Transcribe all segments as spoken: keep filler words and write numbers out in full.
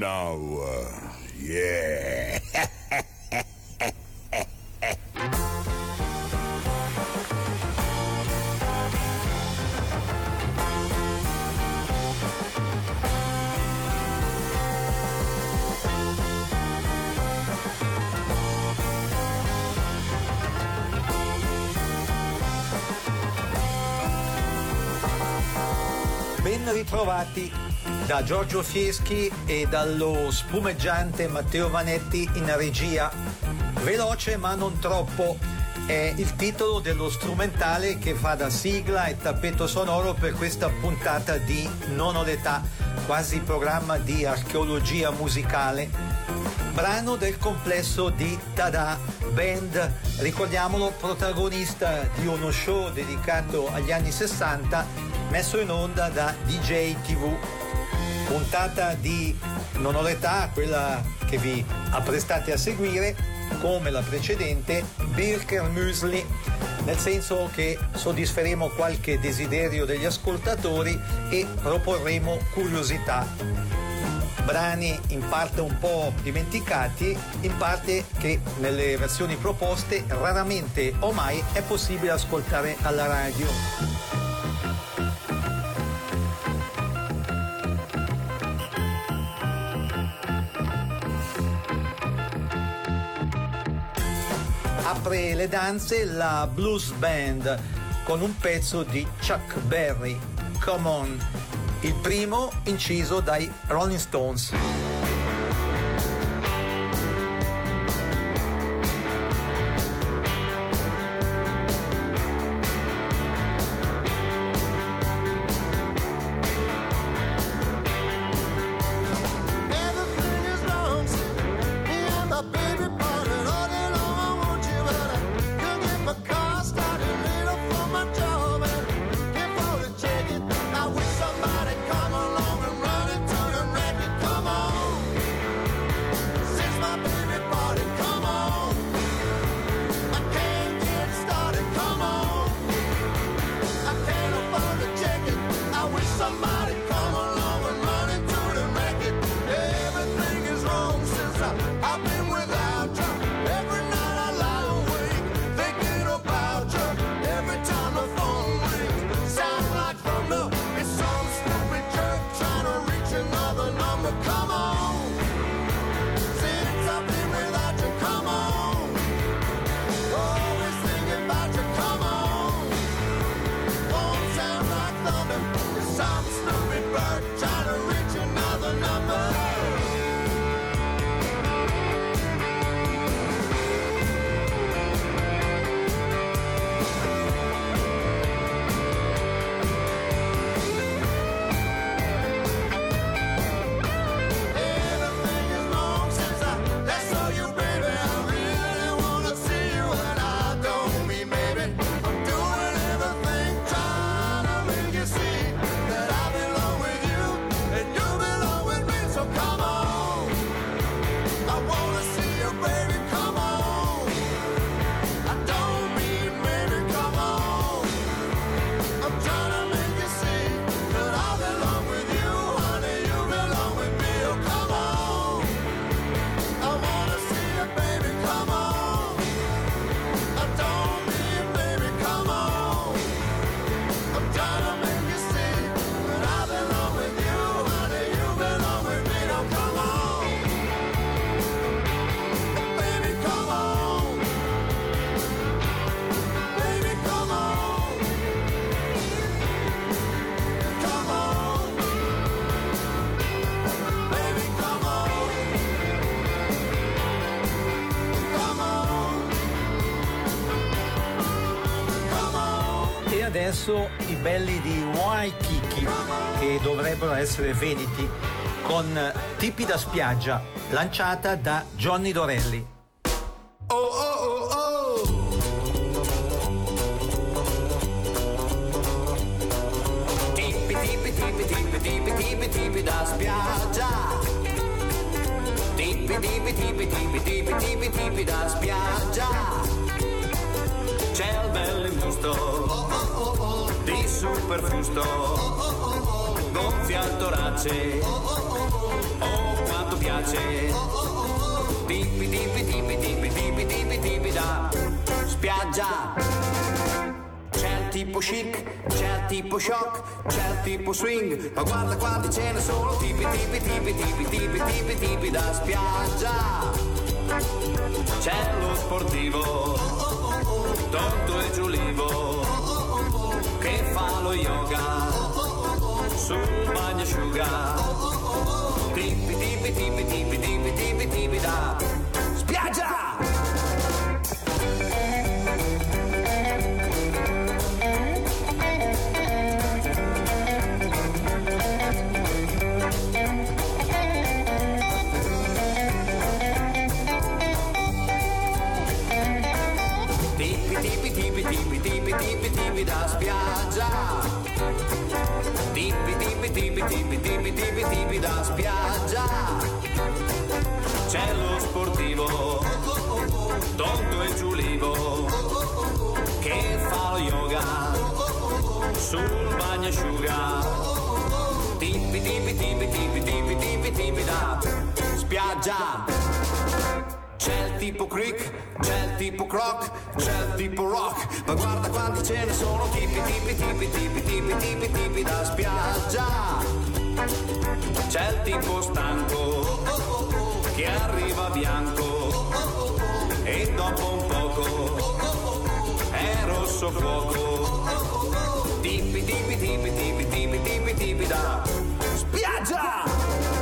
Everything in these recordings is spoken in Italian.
now, uh, yeah. Ben ritrovati da Giorgio Fieschi e dallo spumeggiante Matteo Vanetti in regia. Veloce ma non troppo è il titolo dello strumentale che fa da sigla e tappeto sonoro per questa puntata di Non ho l'età, quasi programma di archeologia musicale. Brano del complesso di Tada Band, ricordiamolo, protagonista di uno show dedicato agli anni sessanta messo in onda da D J tivù. Puntata di Non ho l'età, quella che vi apprestate a seguire, come la precedente, Birker Müsli, nel senso che soddisferemo qualche desiderio degli ascoltatori e proporremo curiosità. Brani in parte un po' dimenticati, in parte che nelle versioni proposte raramente o mai è possibile ascoltare alla radio. Apre le danze la Blues Band con un pezzo di Chuck Berry, Come On, il primo inciso dai Rolling Stones. Adesso i belli di Waikiki, che dovrebbero essere veneti, con Tipi da spiaggia, lanciata da Johnny Dorelli. Oh oh oh oh! Tipi tipi tipi tipi tipi tipi tipi da spiaggia. Tipi tipi tipi tipi tipi tipi tipi da spiaggia. C'è il bel imbusto di Superfusto, gonfi al torace, oh quanto piace, tipi tipi tipi tipi tipi tipi tipi da spiaggia. C'è il tipo chic, c'è il tipo shock, c'è il tipo swing, ma guarda quanti ce ne sono, tipi tipi tipi tipi tipi tipi tipi da spiaggia. C'è lo sportivo, tonto e giulivo, che fa lo yoga sul bagnasciuga, tipi tipi tipi tipi tipi tipi tipi da spiaggia. Tipi tipi tipi tipi tipi tipi da spiaggia. Tipi tipi tipi tipi tipi tipi tipi da spiaggia. C'è lo sportivo, tonto e giulivo, che fa lo yoga sul bagnasciuga. Tipi tipi tipi tipi tipi tipi tipi da spiaggia. C'è il tipo creek, c'è il tipo croc, c'è il tipo rock, ma guarda quanti ce ne sono, tipi tipi tipi tipi tipi tipi tipi da spiaggia. C'è il tipo stanco, che arriva bianco, e dopo un poco è rosso fuoco. Tipi tipi tipi tipi tipi tipi tipi da spiaggia.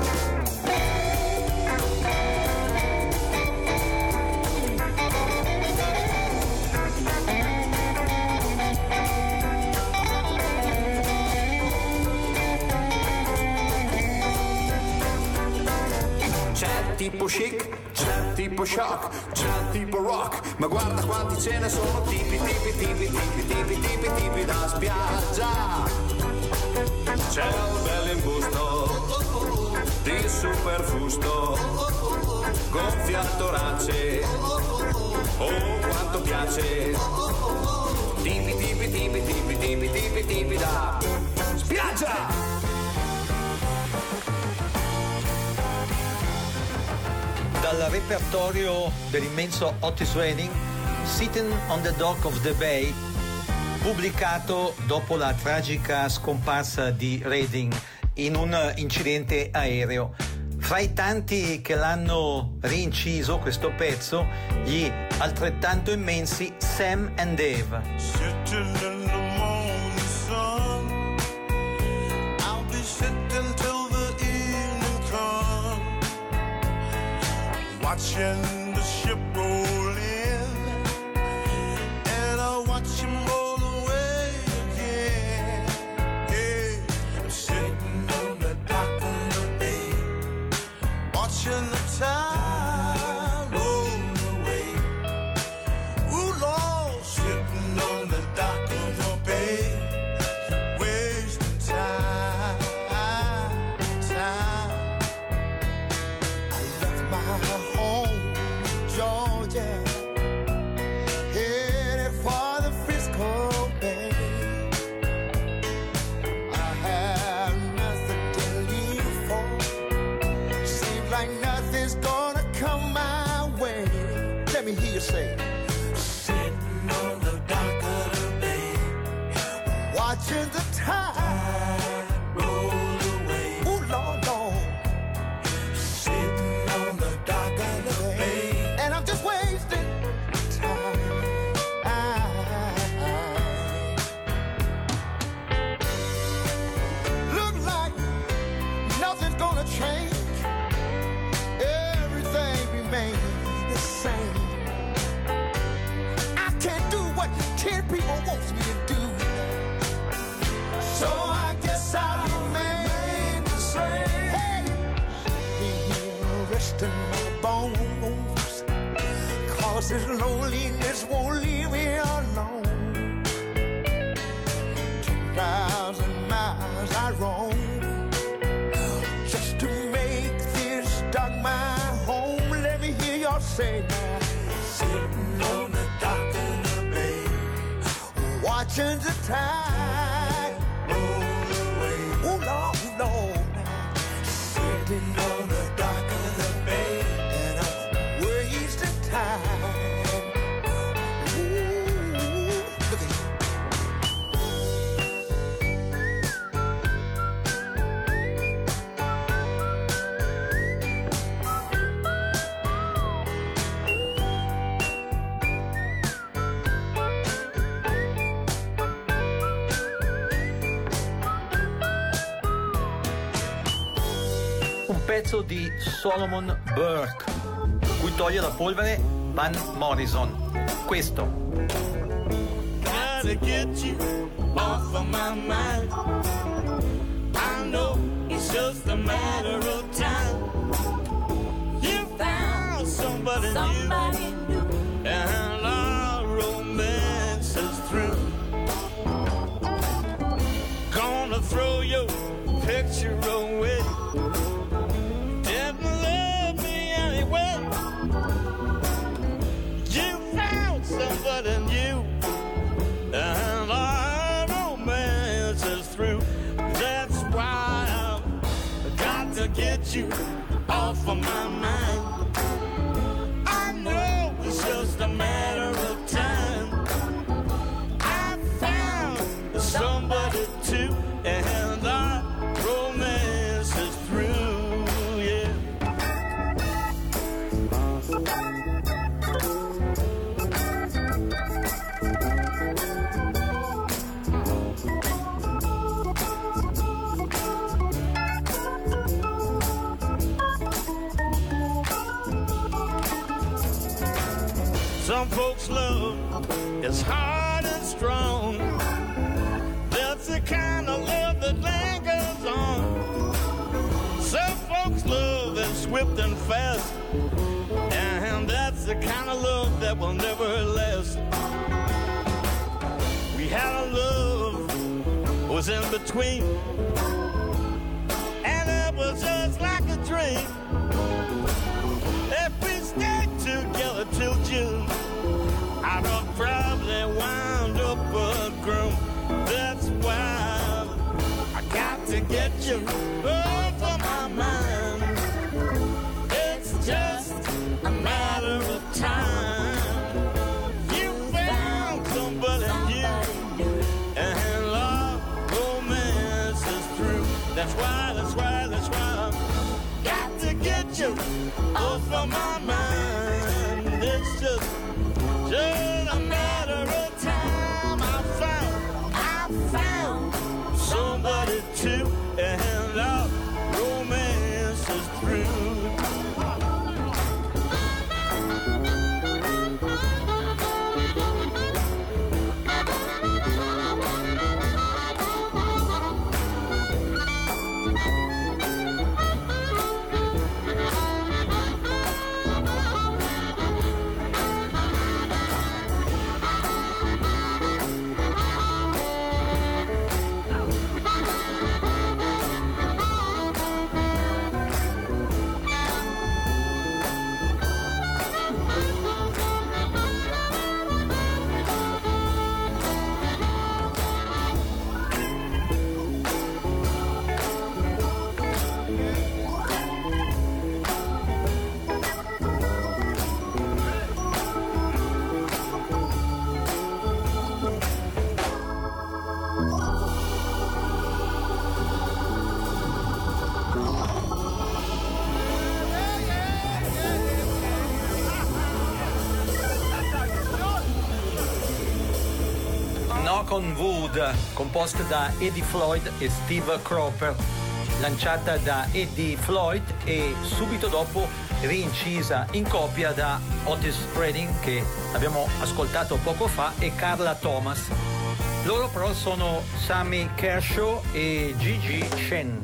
Tipo chic, c'è tipo shock, c'è tipo rock, ma guarda quanti ce ne sono, tipi tipi tipi tipi tipi tipi tipi da spiaggia. C'è il bell'imbusto di superfusto, gonfia al torace, oh quanto piace, tipi tipi tipi tipi tipi tipi tipi da spiaggia. Dal repertorio dell'immenso Otis Redding, Sitting on the Dock of the Bay, pubblicato dopo la tragica scomparsa di Redding in un incidente aereo. Fra i tanti che l'hanno rinciso questo pezzo, gli altrettanto immensi Sam and Dave. Sitting in the morning sun, I'll be sitting till the evening comes, watching the ship roll in, and I'll watch him roll away again. Hey, I'm sitting on the dock of the bay, watching the tide roll away. Ooh, Lord, sitting on the dock of the bay, wasting time, time. I left my home, Georgia, headed for the Frisco Bay. I had nothing to live for. Seems like nothing's gonna come my way. Let me hear you say, sitting on the dock of the bay, watching the tide roll away. Ooh, Lord, Lord. Sitting on the dock of the bay, and I'm just wasting time. Look like nothing's gonna change. Everything remains the same. I can't do what ten people wants me to do, so I guess I'll remain the same. Hey, here resting my bones, cause this loneliness won't leave me alone. Two thousand miles I roam just to make this dock my home. Let me hear y'all say now, sitting on the dock of the bay, watching the tide roll away. Ooh, Lord. pezzo di Solomon Burke, cui toglie la polvere Van Morrison. Questo. Gotta get you off of my mind. I know it's just a matter of time. You found somebody, somebody new, new, and our romance is through. Gonna throw your picture away. Didn't love me anyway. You found somebody new, and our romance is through. That's why I've got to get you off of my mind. I know it's just a matter of time. I found somebody too, and our romance is through, yeah. Some folks' love is hard and strong. That's the kind of love that lingers on. Some folks' love is swift and fast, and that's the kind of love that will never last. We had a love was in between, and it was just like a dream. If we stayed together till June, I'd have probably wound up a groom. That's why I got to get you off of my mind. It's just a matter of time. You found somebody new, and our romance is through. That's why, that's why, that's why I got to get you off of my mind. It's just, just a matter of time. I found, I found somebody too, and our romance is through. Knock on Wood, composta da Eddie Floyd e Steve Cropper, lanciata da Eddie Floyd e subito dopo rincisa in coppia da Otis Redding, che abbiamo ascoltato poco fa, e Carla Thomas. Loro però sono Sammy Kershaw e Gigi Shen.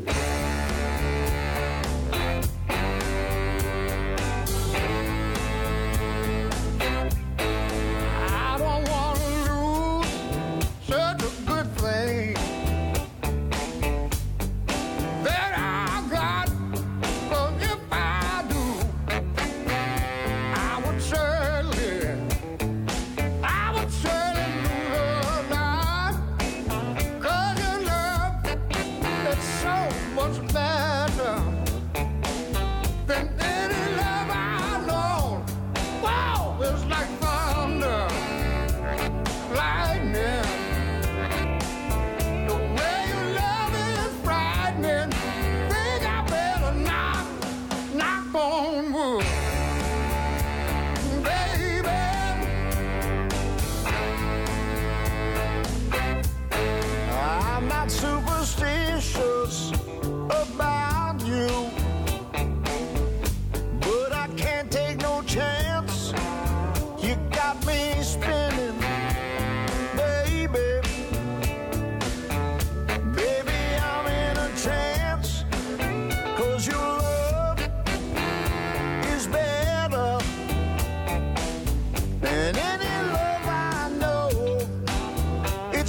Superstitious about you.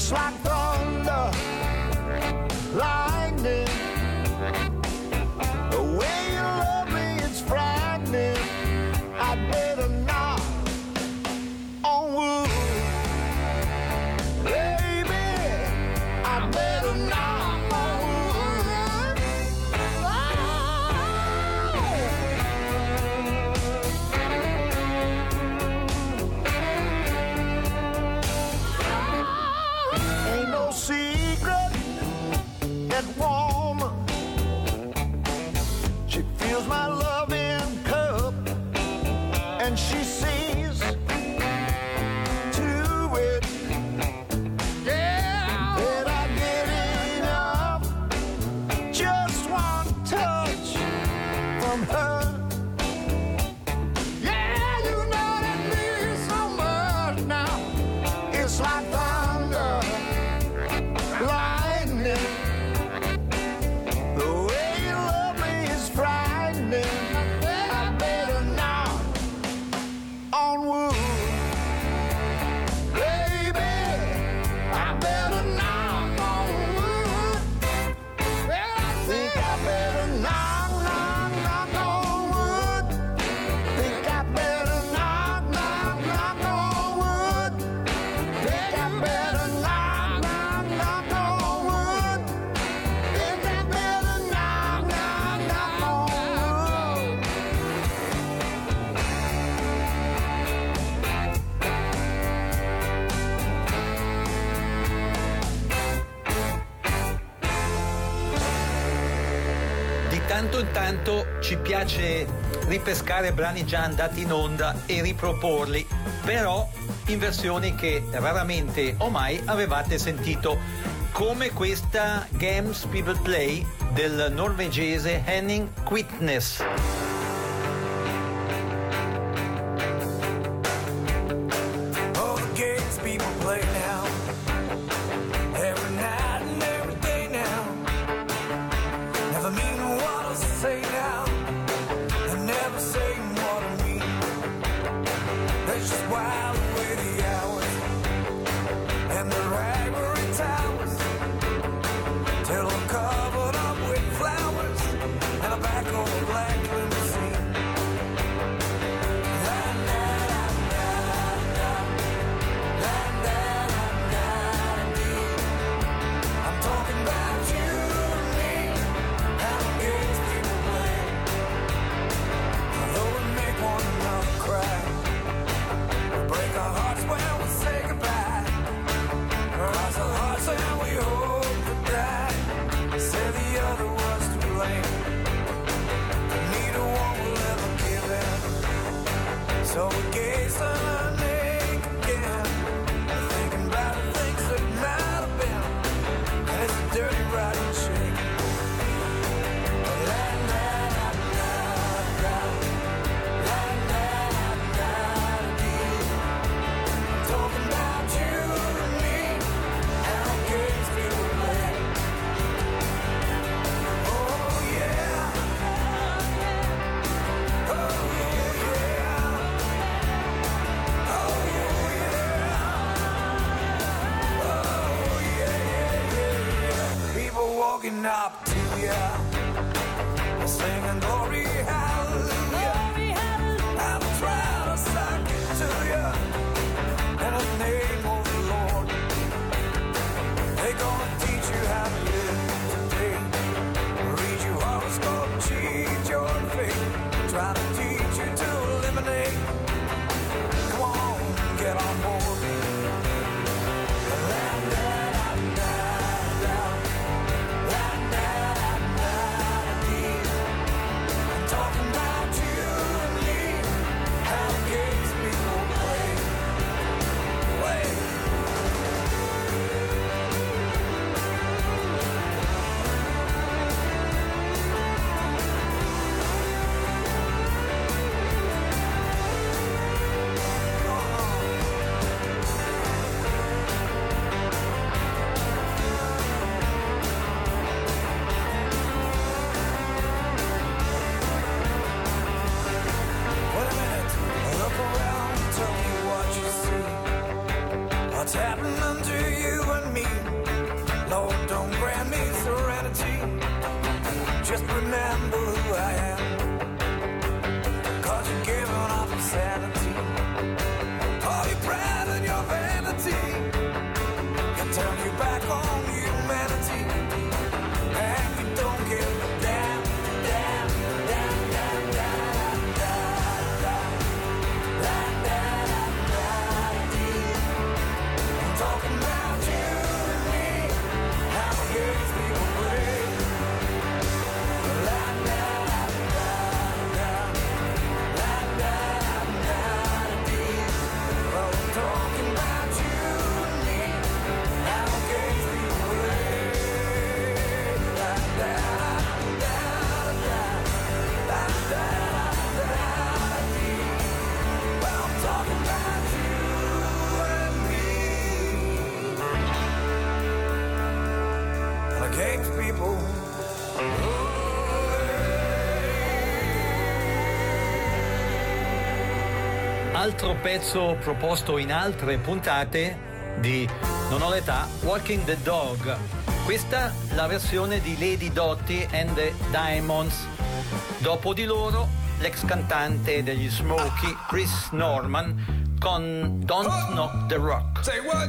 It's like thunder, lightning. The way you love me, it's frightening. I better knock on wood. Baby, I better knock on wood. Oh. Ain't no secret that woman, she feels my loving cup, and she sees to it, yeah, that I get enough. Just one touch from her. Yeah, you know that means so much now. It's like thunder, lightning. The way you love me is frightening. I better knock on wood. Baby, I better knock on wood. Well, I think I better knock, knock, knock on wood. Think I better knock, knock, knock on wood. Think I better knock, knock, knock on wood. Think I better knock, knock, knock on wood. Di tanto in tanto ci piace ripescare brani già andati in onda e riproporli, però in versioni che raramente o mai avevate sentito, come questa Games People Play del norvegese Henning Quitnes. All the games people play now, every night and every day now, never mean what I say now, and never saying what I mean. Let's just while away the hours and the ivory towers till I'm covered up with flowers and a back of a black limousine. I'm talking about you and me, how the games people play. Although we make one another cry, we break our hearts when we say goodbye. Cross our hearts and we hope to die. Say the other was to blame, but neither one will ever give in. So we gaze and ache again, thinking about the things that might have been. And it's a dirty, rotten shame. La la la la la, la la la dee. I'm talking about you and me, how games people play. Oh yeah, oh yeah, oh yeah, oh yeah, yeah. People walking up to you, singing glory, hallelujah. I'm trying to suck it to you in the name of the Lord. They're gonna teach you how to live today, read your horoscope, cheat your fate, try to teach you to eliminate. Come on, get on board. La la la la la, la la la dee. I'm talking about you and me, how games people play. Play. altro pezzo proposto in altre puntate di Non ho l'età, Walking the Dog. Questa la versione di Lady Dottie and the Diamonds. Dopo di loro l'ex cantante degli Smokey, Chris Norman, con Don't Knock the Rock. Say what?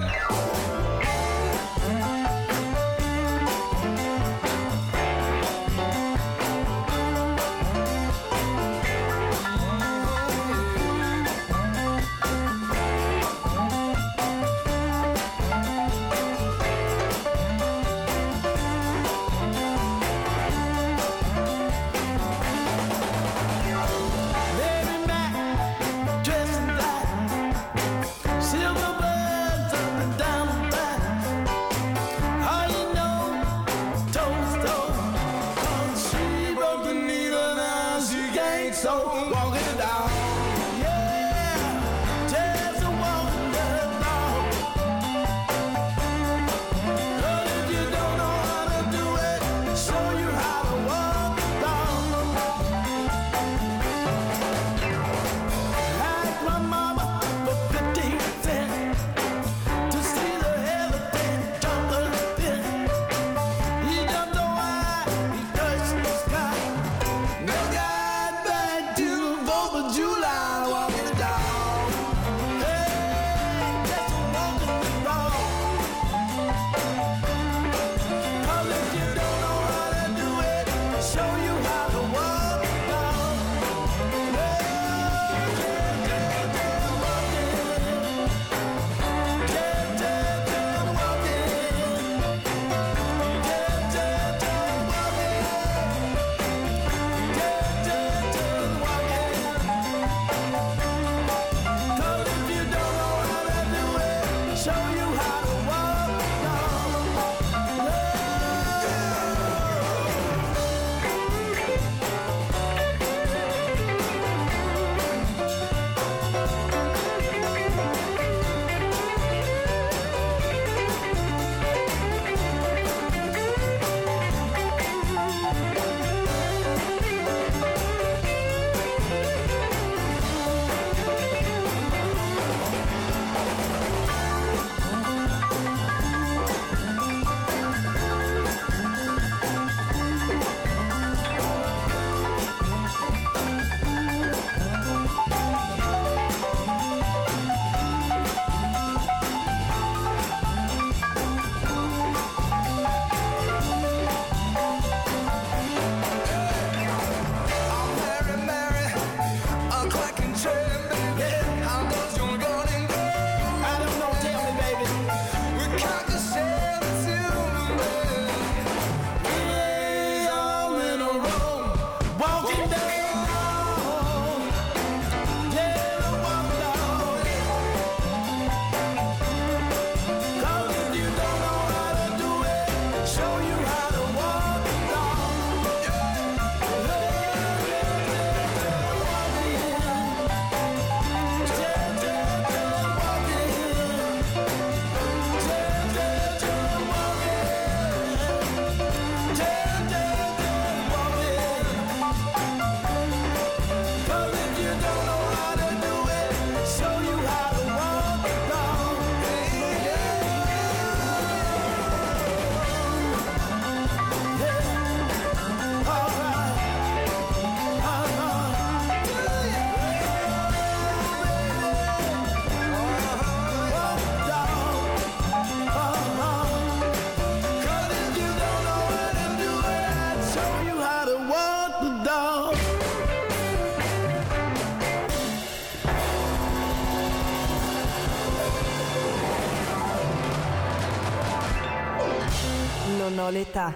Non ho l'età.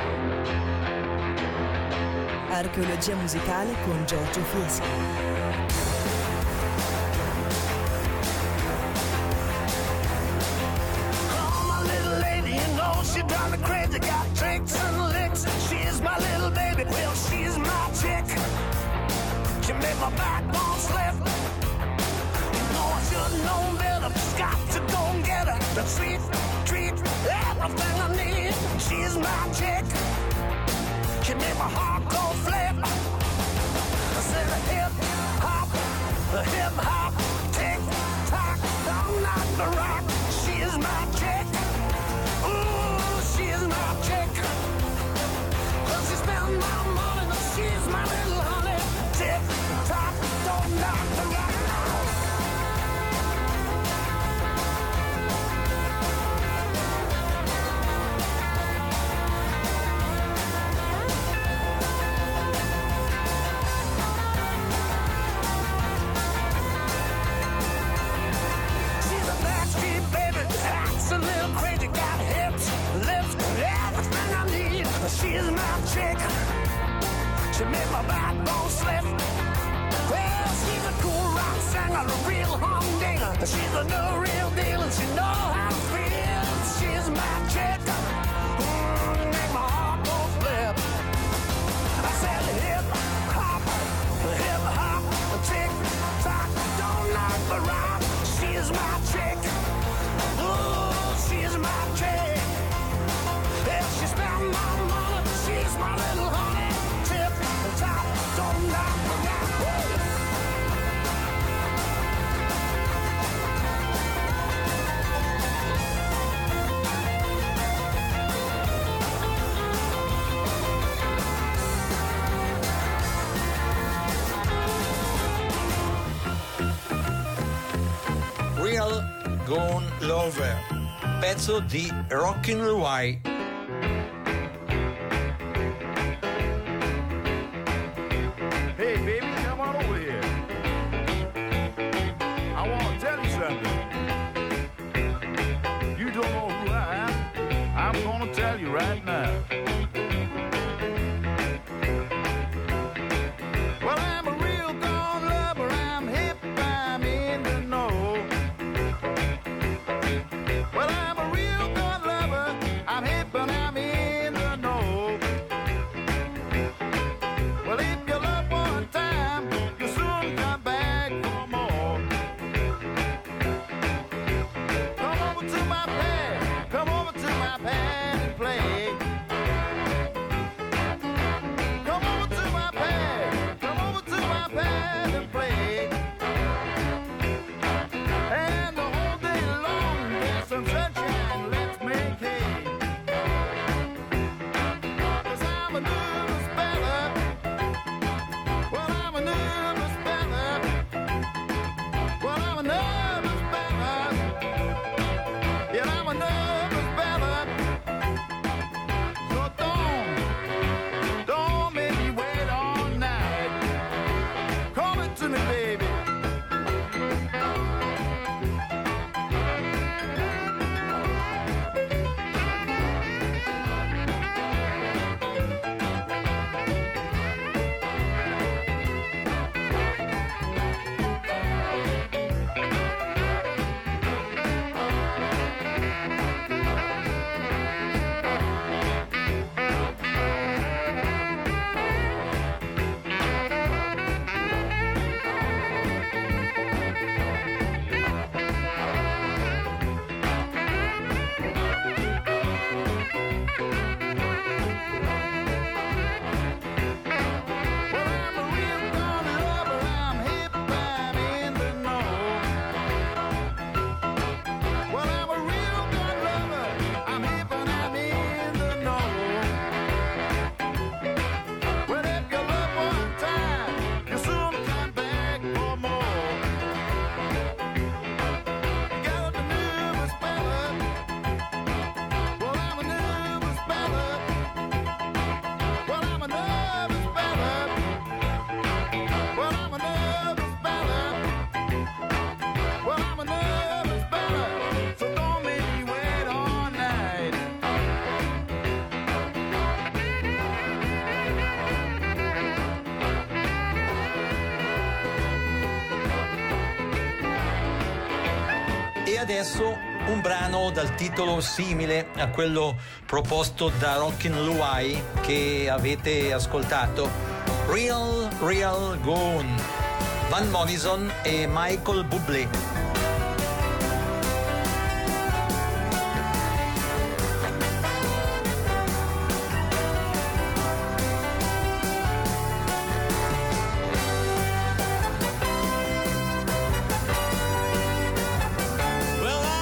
Archeologia musicale con Giorgio Fieschi. She drives me crazy, got tricks and licks. She's my little baby, well, she's my chick. She made my backbone slip. No, I should've known better. Just got to go and get her. The sweet treat, everything I need. She's my chick. She made my heart go flip. I said, hip hop, hip hop, the rock. She is my chick. Ooh, she is my chick. Well, she spends my money, but she's my little honey. Tick tock, don't knock the rock. A little crazy, got hips, lips, everything I need. She's my chick. She made my backbone slip. Well, she's a cool rock singer, a real humdinger. She's a new real deal, and she know how to feel. She's my chick. Mm, make my heart go flip. I said hip hop, hip hop, tick tock, don't knock the rock. She's my chick. Ooh. She's my chick. If she spend my money, she's my little honey. Tip and top, don't knock me down. Real Gone Lover, pezzo di Rockin' Louie. Hey, baby, come on over here. I want to tell you something. You don't know who I am. I'm going to tell you right now. Well, I'm a real gone lover. I'm hip, I'm in the know. Well, I'm a real good lover. I'm hip and I'm in the know. Well, if you love one time, you soon come back for more. Come over to my pad, come over to my pad and play. Come over to my pad, come over to my pad and play. And the whole day long, there's some sunshine, let's make hay. 'Cause I'm a nervous fella. Well, I'm a nervous fella. Well, I'm a nervous fella. Yeah, I'm a nervous fella. So don't, don't make me wait all night. Call it to me, baby. E adesso un brano dal titolo simile a quello proposto da Rockin' Louie che avete ascoltato, Real Real Gone, Van Morrison e Michael Bublé. Well,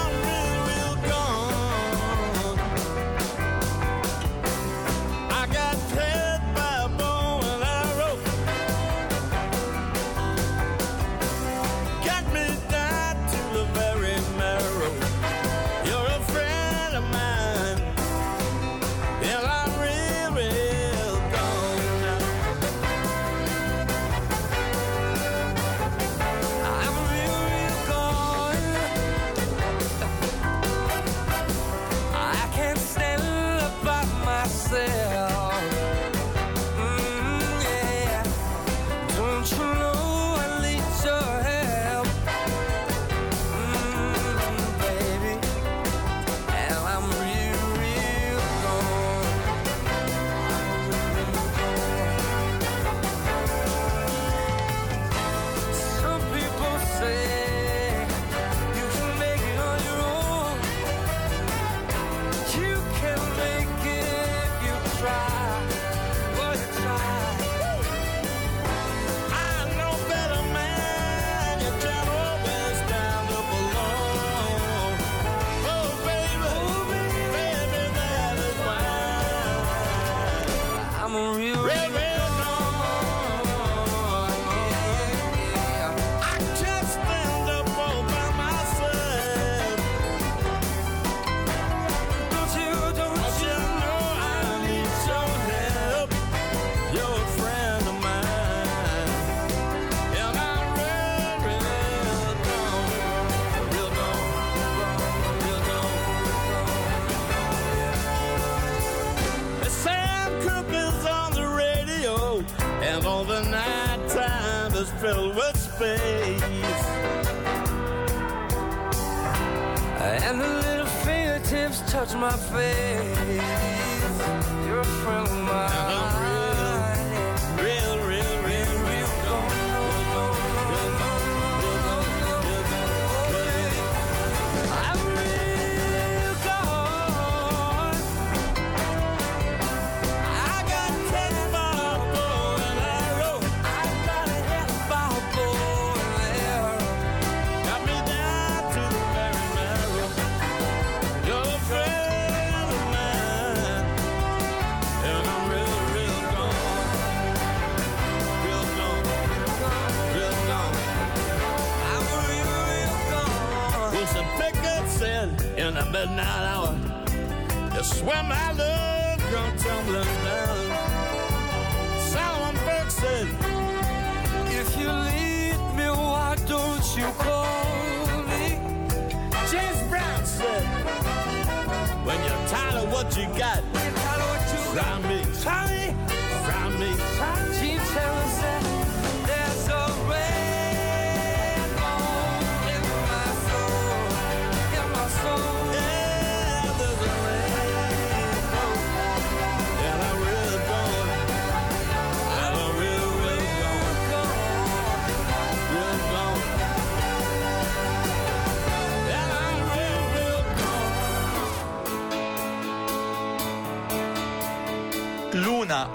filled with space. And the little fingertips touch my face. You're a friend of mine. And I'm real, real, real, real, real gone. Real gone, real gone, real gone, real gone. I'm real gone. I got catch by a bow and arrow. I got a hit by a bow and arrow. Got me down to the very marrow. You're a friend of mine. And I'm real, real gone. Real gone, real gone. I'm real, real gone. Wilson Pickett said in the midnight hour, that's when my love come tumbling down. Solomon Burke said, If you leave me, why don't you call me? James Brown said, when you're tired of what you got, try me, try me, try me. Gene Taylor said, there's a rainbow in my soul, in my soul. Yeah, there's a rainbow, and I'm real gone, and I'm real, real gone, real gone, and I'm real, real gone. Luna,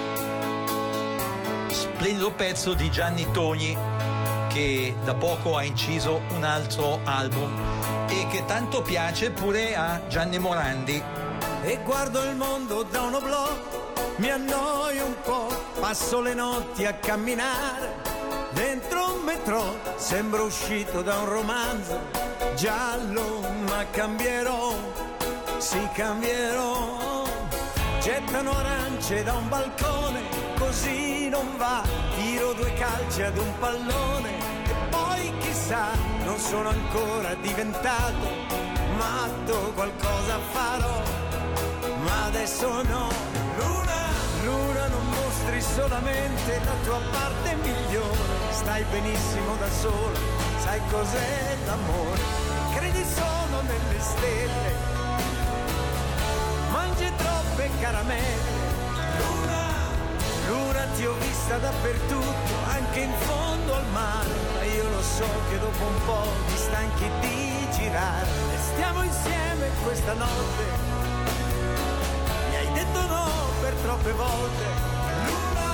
splendido pezzo di Gianni Togni, che da poco ha inciso un altro album e che tanto piace pure a Gianni Morandi. E guardo il mondo da un oblò, mi annoio un po', passo le notti a camminare dentro un metro, sembro uscito da un romanzo giallo, ma cambierò, sì cambierò. Gettano arance da un balcone, così non va, tiro due calci ad un pallone e poi chissà, non sono ancora diventato matto, qualcosa farò, ma adesso no. Luna, Luna, non mostri solamente la tua parte migliore, stai benissimo da sola, sai cos'è l'amore, credi solo nelle stelle, mangi troppe caramelle. Luna, Luna, ti ho vista dappertutto, anche in fondo al mare, ma io lo so che dopo un po' ti stanchi di girare. E stiamo insieme questa notte, mi hai detto no per troppe volte. Luna,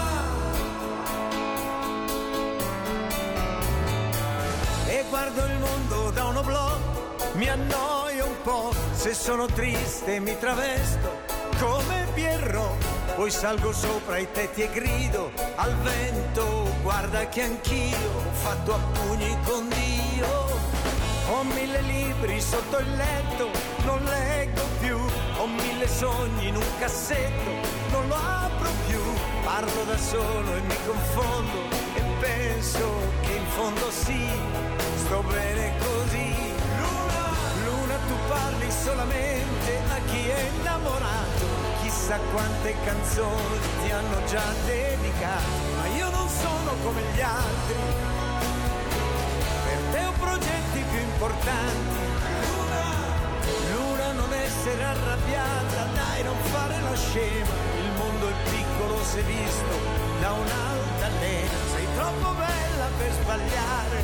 e guardo il mondo da un oblò, mi annoio un po', se sono triste mi travesto come Pierrot, poi salgo sopra i tetti e grido al vento, guarda che anch'io ho fatto a pugni con Dio. Ho mille libri sotto il letto, non leggo più, ho mille sogni in un cassetto, non lo apro più, parlo da solo e mi confondo e penso che in fondo sì, sto bene così. Luna, tu parli solamente a chi è innamorato, chissà quante canzoni ti hanno già dedicato, ma io non sono come gli altri, per te ho progetti più importanti. Luna, Luna, non essere arrabbiata, dai, non fare la scema, il mondo è piccolo se visto da un'altalena, sei troppo bella per sbagliare,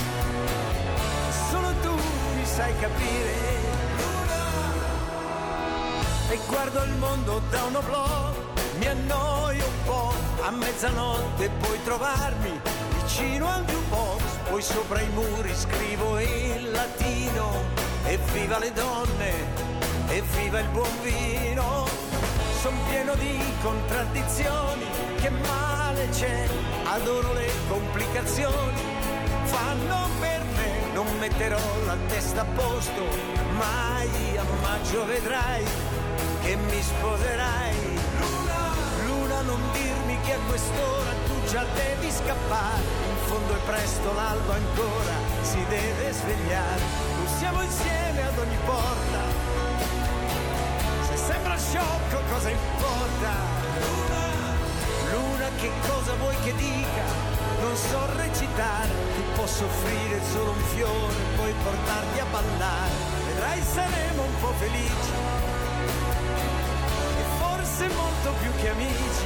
solo tu mi sai capire. Luna, e guardo il mondo da un oblò, mi annoio un po', a mezzanotte puoi trovarmi vicino al jukebox, poi sopra i muri scrivo in latino, evviva le donne, evviva il buon vino. Son pieno di contraddizioni, che male c'è, adoro le complicazioni, fanno per me, non metterò la testa a posto, mai a maggio vedrai che mi sposerai. Luna, Luna, non dirmi che a quest'ora tu già devi scappare, in fondo è presto, l'alba ancora si deve svegliare, non siamo insieme ad ogni porta, se sembra sciocco cosa importa. Luna, Luna, che cosa vuoi che dica, non so recitare, ti posso offrire solo un fiore, poi portarti a ballare, vedrai saremo un po' felici, e forse molto più che amici.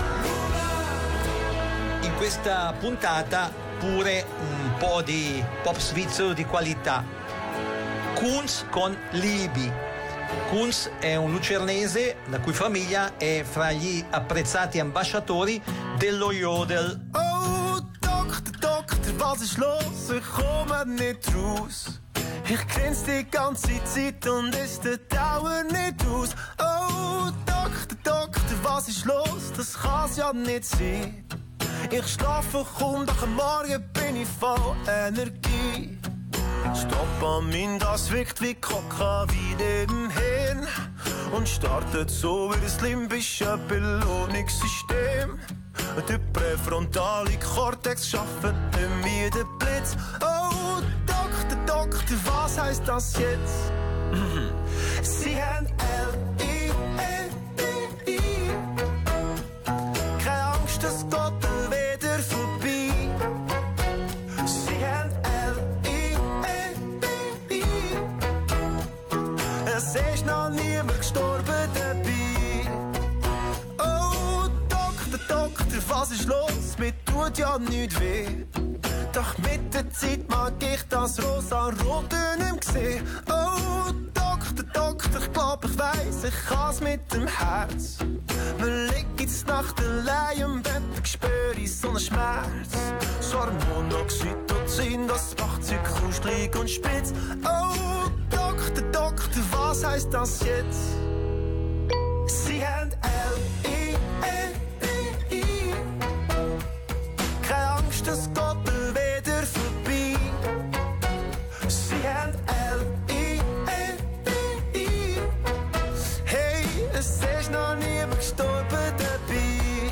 In questa puntata pure un po' di pop svizzero di qualità. Kunz con Libi. Kunz è un lucernese la cui famiglia è fra gli apprezzati ambasciatori dello Jodel. Oh, Doktor, Doktor, was ist los? Ich komme nicht raus. Ich grinse die ganze Zeit und es dauert nicht aus. Oh, Doktor, Doktor, was ist los? Das kann's ja nicht sein. Ich schlafe kaum, doch am Morgen bin ich voll Energie. Dopamin, das wirkt wie Kokain im Hirn und startet so wie das limbische Belohnungssystem. Der präfrontale Kortex schafft nicht mehr den Blitz. Oh, Doktor, Doktor, was heisst das jetzt? Sie haben L I N D I. Keine Angst, das geht wieder vorbei. Sie haben es ist noch niemand gestorben dabei. Oh, Doktor, Doktor, was ist los? Mir tut ja nichts weh. Doch mit der Zeit mag ich das rosa-rote nicht mehr sehen. Oh, Doktor, Doktor, ich glaub, ich weiss, ich kann's mit dem Herz. Man liegt jetzt Nacht allein im Bett, ich spüre so einen Schmerz. So Monoxytocin, das macht sich kuschelig und spitz. Oh, Doktor, Doktor, was heisst das jetzt? Sie haben L I N D I. Keine Angst, es geht wieder vorbei. Sie haben L I N D I. Hey, es ist noch niemand gestorben dabei.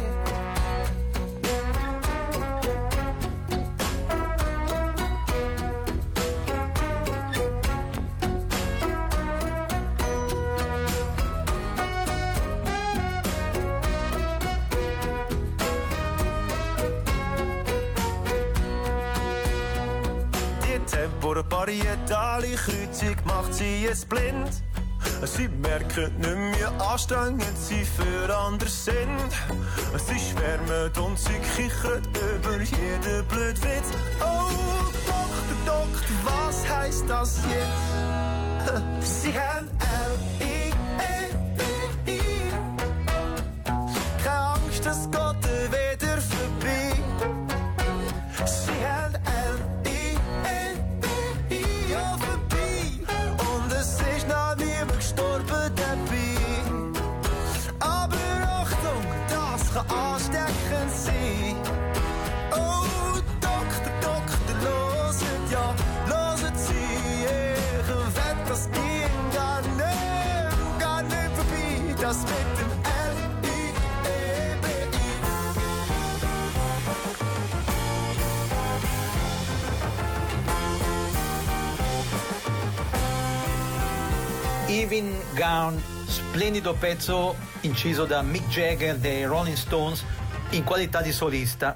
Parietale Kreuzung macht sie jetzt blind. Sie merken nicht mehr anstrengend sie für andere sind. Sie schwärmen und sie kichern über jeden blöden Witz. Oh, Doktor, Doktor, was heisst das jetzt? Sie haben L I N D I. Keine Angst, es geht wieder vorbei. Sie haben L I N D I, ja vorbei. Und es ist noch niemand gestorben dabei. Aber Achtung, das kann ansteckend sein. Oh, Doktor, Doktor, loset ja, loset Sie. Ich wett, das ging gar nicht, gar nicht vorbei. Das mit dem L I E B I. Evening Gown, splendido pezzo inciso da Mick Jagger dei Rolling Stones in qualità di solista.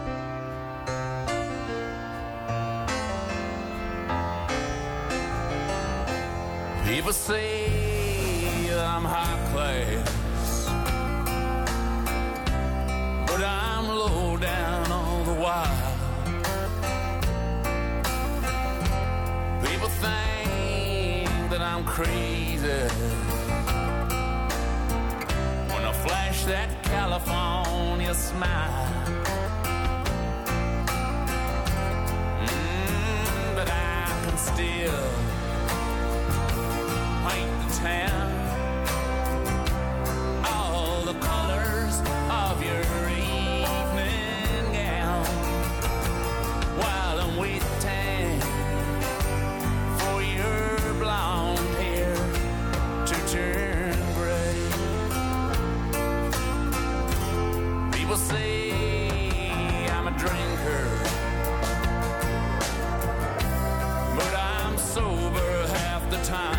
People say that I'm high class, but I'm low down all the while. People think that I'm crazy when I flash that California smile. Mm, but I can still paint the town all the colors of your evening gown while I'm waiting for your blonde hair to turn gray. People say I'm a drinker, but I'm sober half the time.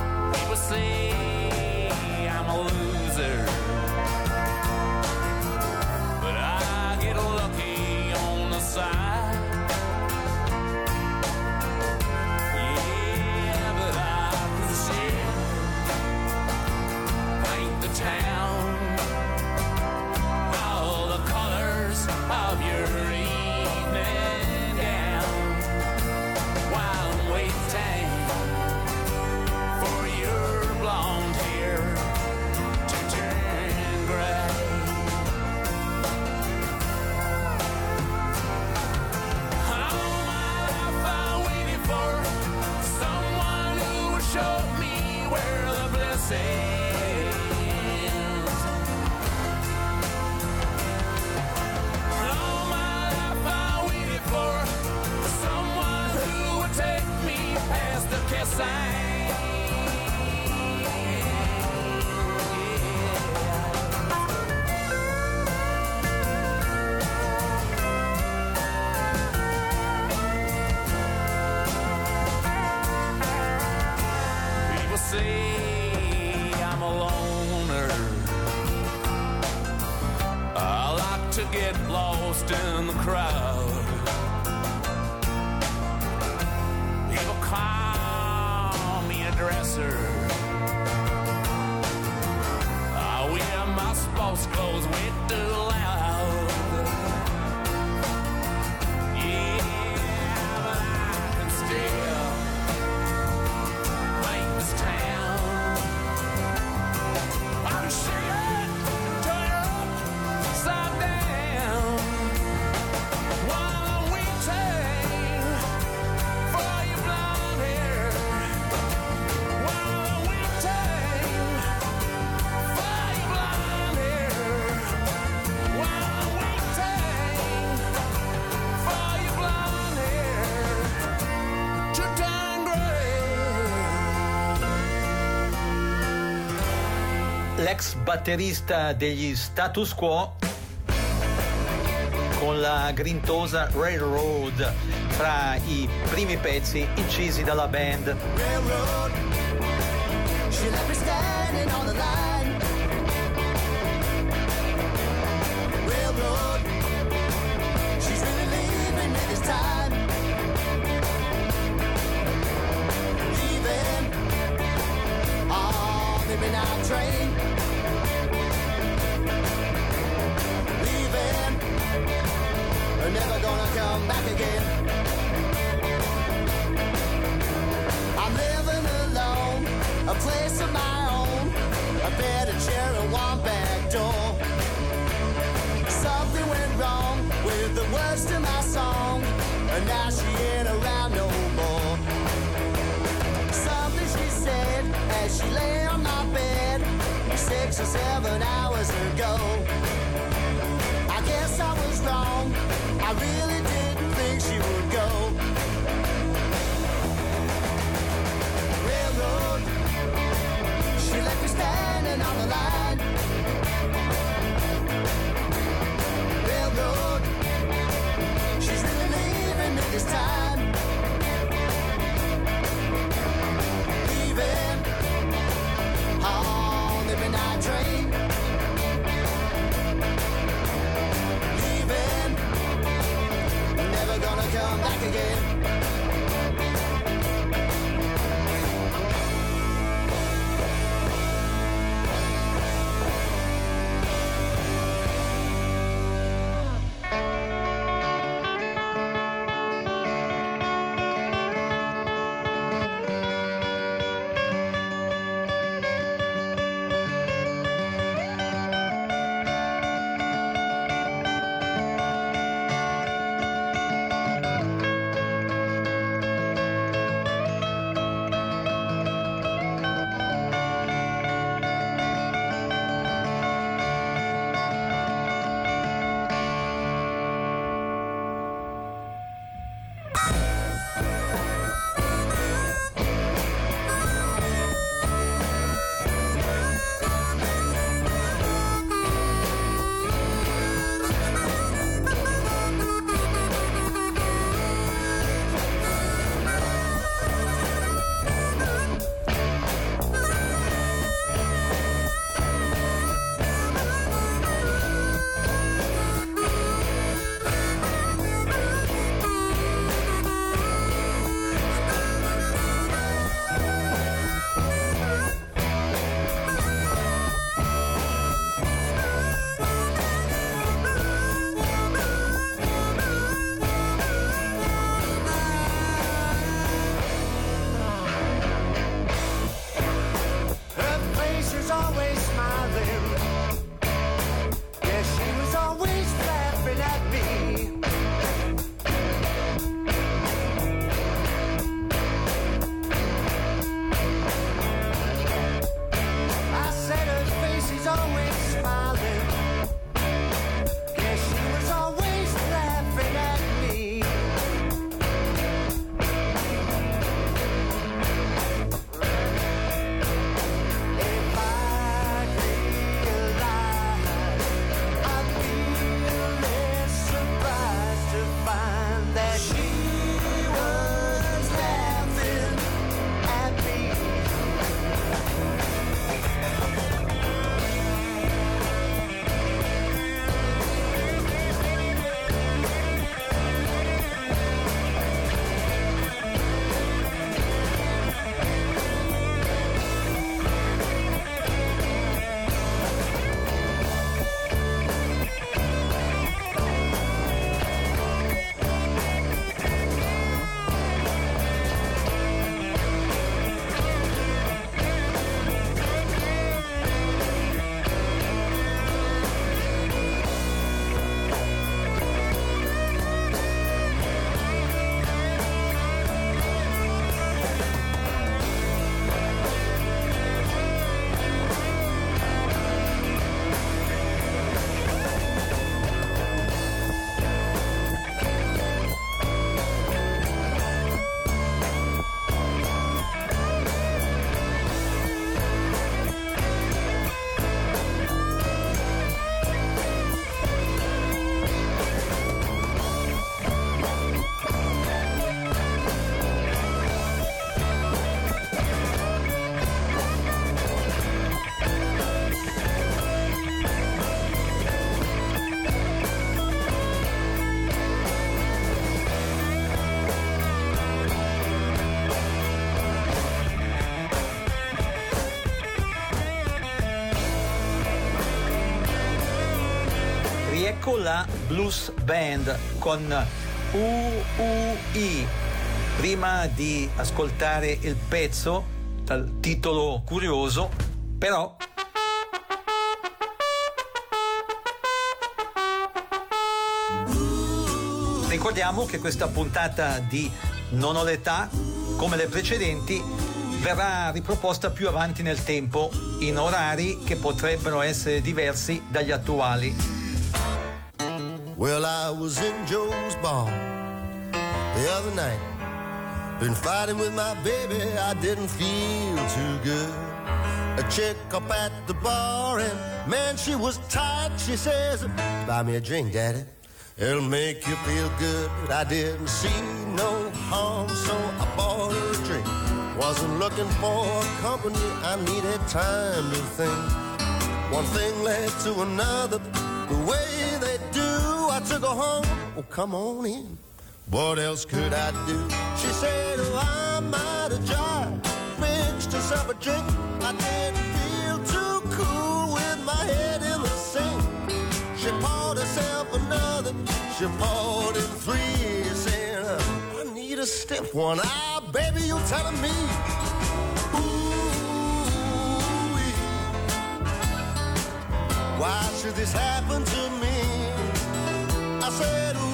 Say I'm a loser, Say I'm a loner. I like to get lost in the crowd. People call me a dresser. I wear my sports clothes way too loud. Yeah, but I can still l'ex batterista degli Status Quo con la grintosa Railroad fra i primi pezzi incisi dalla band. Railroad, she left me standing on the line. Railroad, she's really leaving me this time. Leaving on the midnight train. Leaving, we're never gonna come back again. I'm living alone, a place of my own, a bed, a chair, and one back door. Something went wrong with the words to my song, and now she ain't around no more. Something she said as she lay on my bed six or seven hours ago. I guess I was wrong, I really didn't think she would go. Railroad, she left me standing on the line. Railroad, she's really leaving me this time. Leaving on the midnight train. Leaving ecco la Blues Band con U U I. Prima di ascoltare il pezzo dal titolo curioso, però ricordiamo che questa puntata di Non ho l'età, come le precedenti, verrà riproposta più avanti nel tempo in orari che potrebbero essere diversi dagli attuali. Well, I was in Joe's bar the other night. Been fighting with my baby, I didn't feel too good. A chick up at the bar and man, she was tight. She says, buy me a drink, daddy, it'll make you feel good. I didn't see no harm, so I bought her a drink. Wasn't looking for company, I needed time to think. One thing led to another, the way they do. I took her home, oh come on in. What else could I do? She said, oh, I might have tried. Mixed herself a drink. I didn't feel too cool with my head in the sink. She poured herself another. She poured in three. Saying, I need a stiff one. Ah, baby, you telling me. Ooh, why should this happen to me? I said, ooh.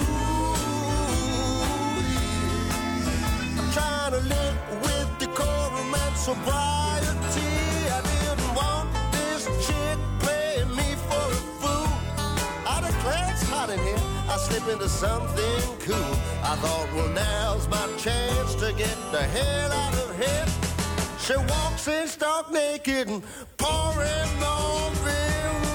Trying to live with decorum and sobriety. I didn't want this chick playing me for a fool. I declare it's hot in here, I slip into something cool. I thought, well, now's my chance to get the hell out of here. She walks in stark naked and pouring on me.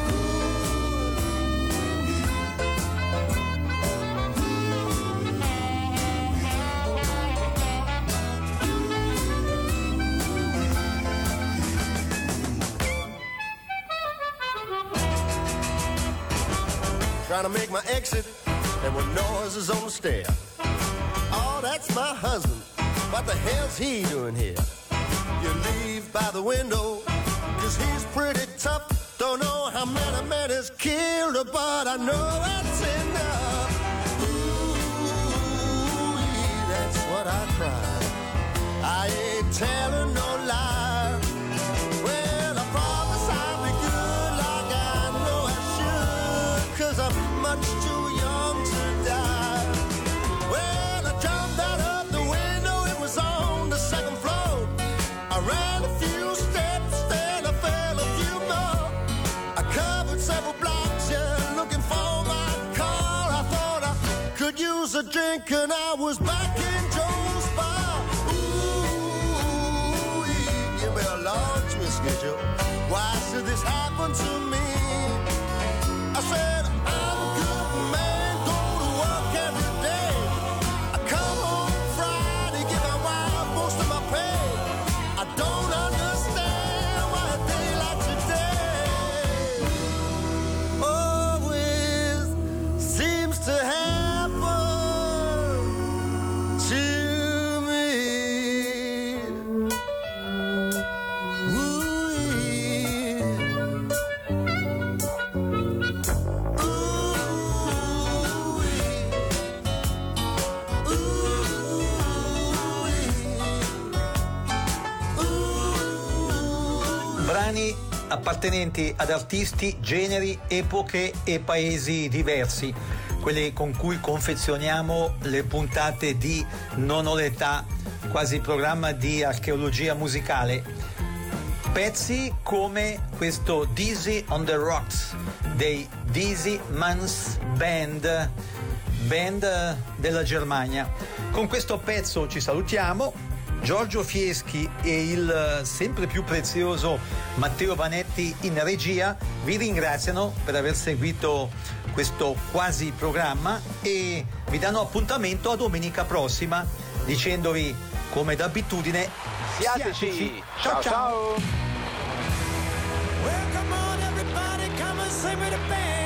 Trying to make my exit, there were noises on the stair. Oh, that's my husband. What the hell's he doing here? You leave by the window, cause he's pretty tough. Don't know how many men he's killed, but I know that's enough. Ooh, that's what I cry. I ain't telling no lie. Well, I promise I'll be good like I know I should, cause I'm much too young to die. Well, I jumped out of the window, it was on the second floor. I ran a few steps, then I fell a few more. I covered several blocks, yeah, looking for my car. I thought I could use a drink and I was back in Joe's bar. Ooh, give me a large whiskey, Joe. Why should this happen to me? I said, I'm a good man, go to work every day. I come home Friday, give my wife most of my pay. I don't understand why a day like today always seems to happen to me. Ooh, Brani appartenenti ad artisti, generi, epoche e paesi diversi, quelli con cui confezioniamo le puntate di Non ho l'età, quasi programma di archeologia musicale. Pezzi come questo Dizzy on the Rocks dei Dizzy Mans Band, band della Germania. Con questo pezzo ci salutiamo. Giorgio Fieschi e il sempre più prezioso Matteo Vanetti in regia vi ringraziano per aver seguito questo quasi programma e vi danno appuntamento a domenica prossima dicendovi come d'abitudine siateci. Ciao ciao, ciao. Well, come on, everybody, come and sing with the band.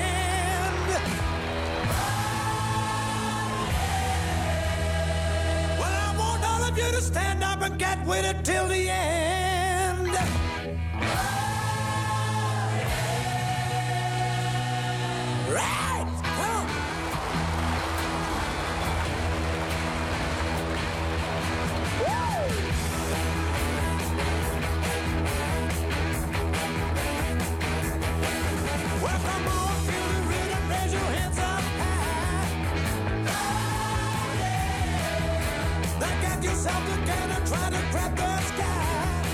Well, I want all of you to stand up and get with it till the end. Right! Knock yourself together, try to grab the sky.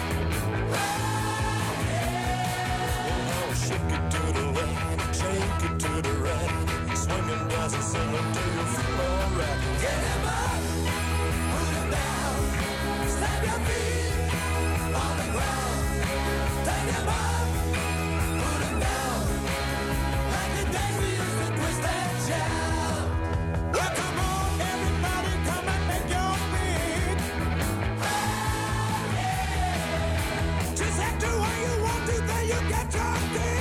Shake it to the left, shake it to the right. Swinging, dancing, singing till you feel alright. Get him up, put him down. Stamp your feet on the ground. Take him up, put him down. Like the days we used to twist and shout. Well, come on, everybody, come and make your beat. Oh, yeah. Just act the way you want to, then you get your beat.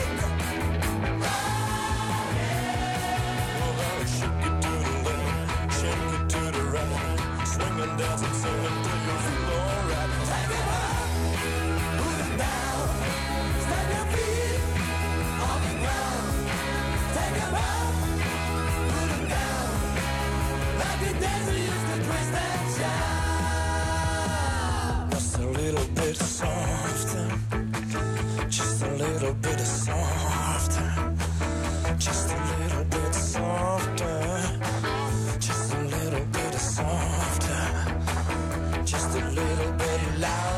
Swinging, dancing, singing till you feel alright. Take him up, put him down. Stamp your feet on the ground. Take him up, put him down. Like the days we used to twist and shout. Just a little bit softer. Just a little bit softer. Just a little bit softer. Just a little bit softer. Just a little bit louder.